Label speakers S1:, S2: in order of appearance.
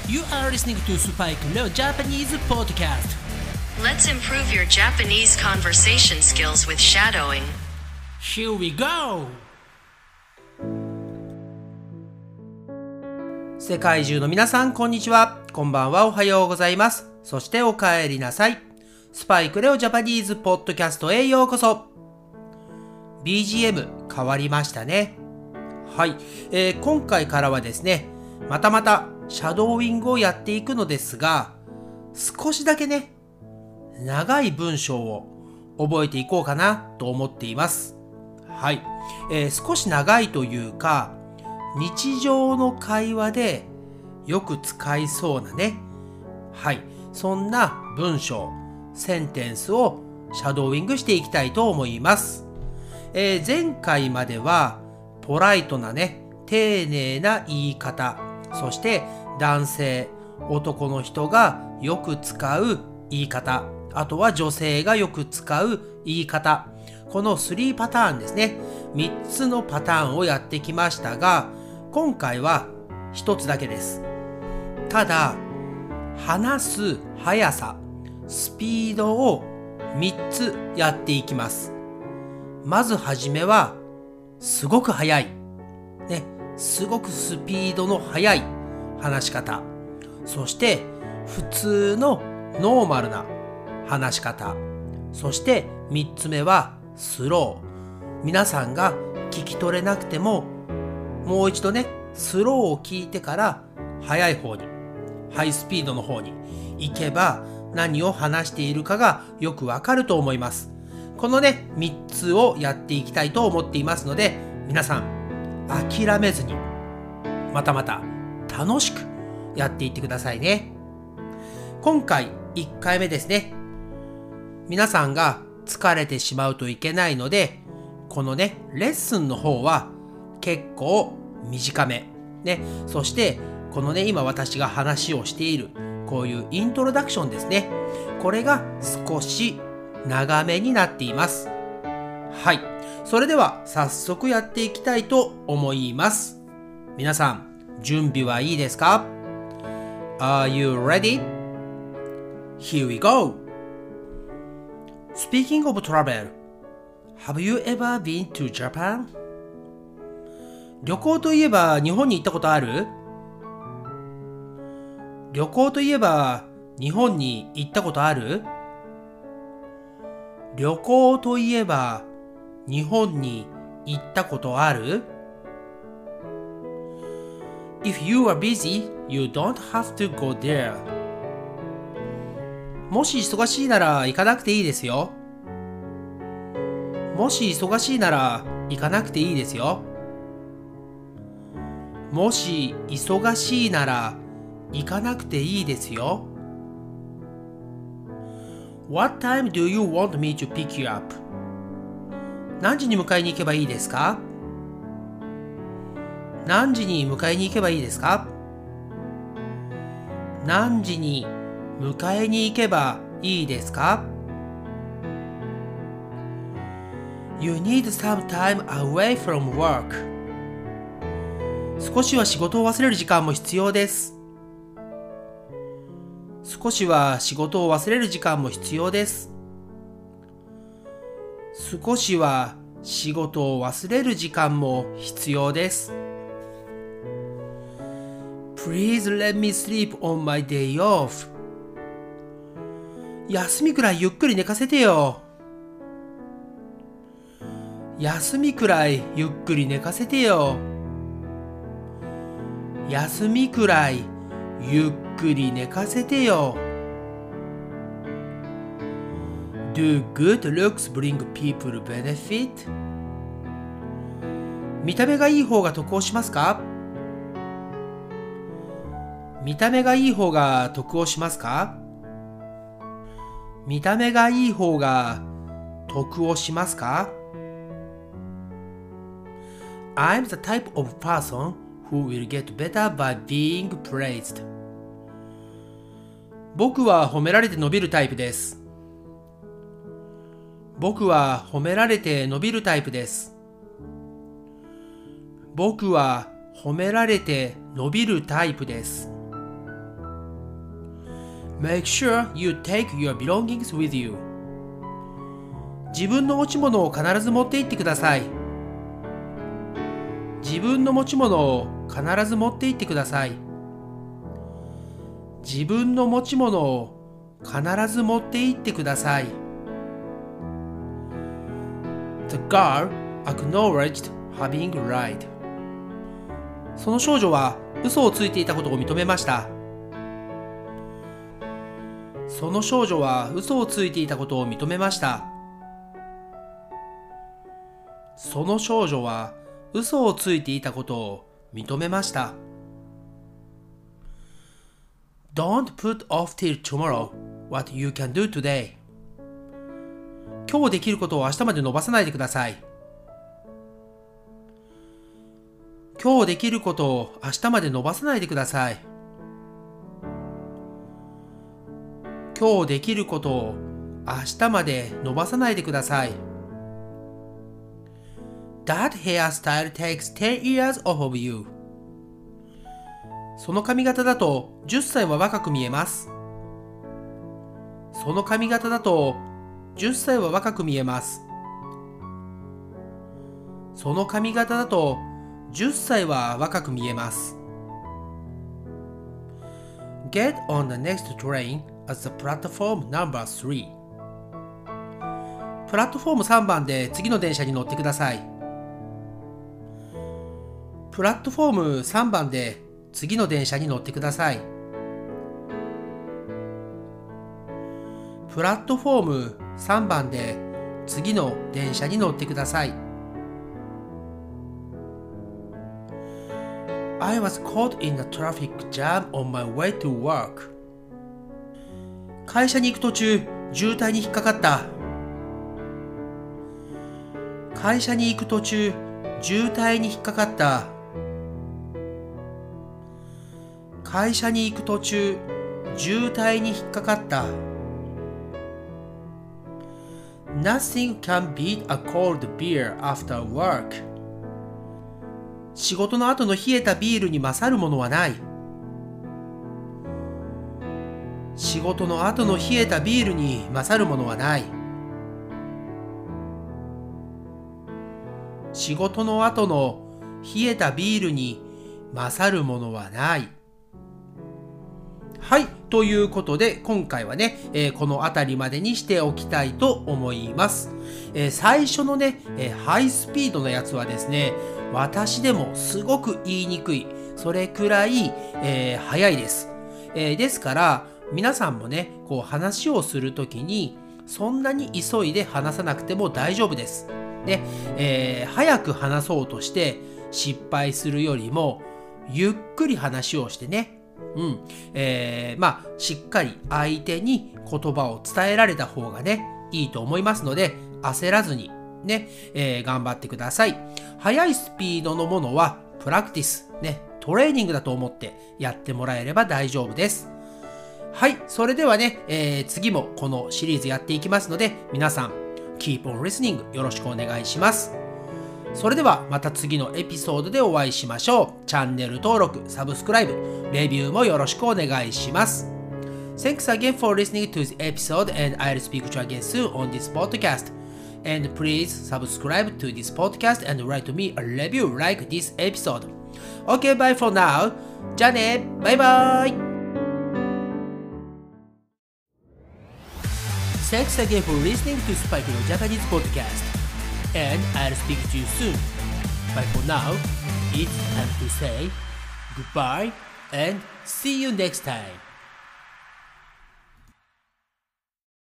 S1: You are listening to Spike Leo Japanese Podcast.
S2: Let's improve your Japanese conversation skills with shadowing.
S1: Here we go! 世界中の皆さん、こんにちは。こんばんは、おはようございます。そしてお帰りなさい。スパイクレオジャパニーズポッドキャストへようこそ。BGM 変わりましたね。はい、今回からはですね、またシャドーイングをやっていくのですが、少しだけね、長い文章を覚えていこうかなと思っています。はい、少し長いというか、日常の会話でよく使いそうなね、はい、そんな文章、センテンスをシャドーイングしていきたいと思います。前回まではポライトなね、丁寧な言い方、そして男性、男の人がよく使う言い方、あとは女性がよく使う言い方、この3パターンですね。3つのパターンをやってきましたが、今回は1つだけです。ただ、話す速さ、スピードを3つやっていきます。まずはじめは、すごく速い。ね、すごくスピードの速い話し方。そして、普通のノーマルな話し方。そして3つ目はスロー。皆さんが聞き取れなくても、もう一度ね、スローを聞いてから速い方に、ハイスピードの方に行けば何を話しているかがよくわかると思います。このね、3つをやっていきたいと思っていますので、皆さん諦めずにまた楽しくやっていってくださいね。今回1回目ですね。皆さんが疲れてしまうといけないので、このね、レッスンの方は結構短め。ね、そしてこのね、今私が話をしているこういうイントロダクションですね。これが少し長めになっています。はい。それでは早速やっていきたいと思います。皆さん、準備はいいですか？ Are you ready? Here we go! Speaking of travel, have you ever been to Japan? 旅行といえば日本に行ったことある？旅行といえば日本に行ったことある？旅行といえば日本に行ったことある？ If you are busy, you don't have to go there. もし忙しいなら行かなくていいですよ。もし忙しいなら行かなくていいですよ。もし忙しいなら行かなくていいですよ。What time do you want me to pick you up? 何時に迎えに行けばいいですか？何時に迎えに行けばいいですか？何時に迎えに行けばいいですか？ You need some time away from work. 少しは仕事を忘れる時間も必要です。少しは仕事を忘れる時間も必要です。少しは仕事を忘れる時間も必要です。Please let me sleep on my day off. 休みくらいゆっくり寝かせてよ。休みくらいゆっくり寝かせてよ。休みくらいゆっくり寝かせてよ。Do good looks bring people benefit? 見た目がいい方が得をしますか？見た目がいい方が得をしますか？見た目がいい方が得をしますか？ I'm the type of person who will get better by being praised. 僕は褒められて伸びるタイプです。僕は褒められて伸びるタイプです。僕は褒められて伸びるタイプです。 Make sure you take your belongings with you. 自分の持ち物を必ず持って行ってください。自分の持ち物を必ず持って行ってください。自分の持ち物を必ず持って行ってください。The girl acknowledged having lied. その少女は嘘をついていたことを認めました。その少女は嘘をついていたことを認めました。その少女は嘘をついていたことを認めました。Don't put off till tomorrow what you can do today. 今日できることを明日まで伸ばさないでください。今日できることを明日まで伸ばさないでください。今日できることを明日まで伸ばさないでください。That hairstyle takes 10 years off of you. その髪型だと10歳は若く見えます。その髪型だと10歳は若く見えます。その髪型だと10歳は若く見えます。Get on the next train at the platform number 3. プラットフォーム3番で次の電車に乗ってください。プラットフォーム3番で次の電車に乗ってください。プラットフォーム3番で次の電車に乗ってください。I was caught in a traffic jam on my way to work. 会社に行く途中、渋滞に引っかかった。会社に行く途中、渋滞に引っかかった。会社に行く途中、渋滞に引っかかった。Nothing can beat a cold beer after work. 仕事の後の冷えたビールに勝るものはない。仕事の後の冷えたビールに勝るものはない。仕事の後の冷えたビールに勝るものはない。はい。ということで、今回はね、この辺りまでにしておきたいと思います。最初のね、ハイスピードのやつはですね、私でもすごく言いにくい。それくらい、早いです。ですから、皆さんもね、こう話をするときに、そんなに急いで話さなくても大丈夫です。で、早く話そうとして失敗するよりも、ゆっくり話をしてね、しっかり相手に言葉を伝えられた方がね、いいと思いますので、焦らずにね、頑張ってください。速いスピードのものはプラクティス、ね、トレーニングだと思ってやってもらえれば大丈夫です。はい、それではね、次もこのシリーズやっていきますので、皆さん、Keep on listening よろしくお願いします。それではまた次のエピソードでお会いしましょう。チャンネル登録、サブスクライブ、レビューもよろしくお願いします。Thanks again for listening to this episode and I'll speak to you again soon on this podcast.And please subscribe to this podcast and write to me a review like this episode. Okay, bye for now. じゃあね、バイバイ。Thanks again for listening to Spikeの Japanese podcast. And I'll speak to you soon. But for now, it's time to say goodbye and see you next time.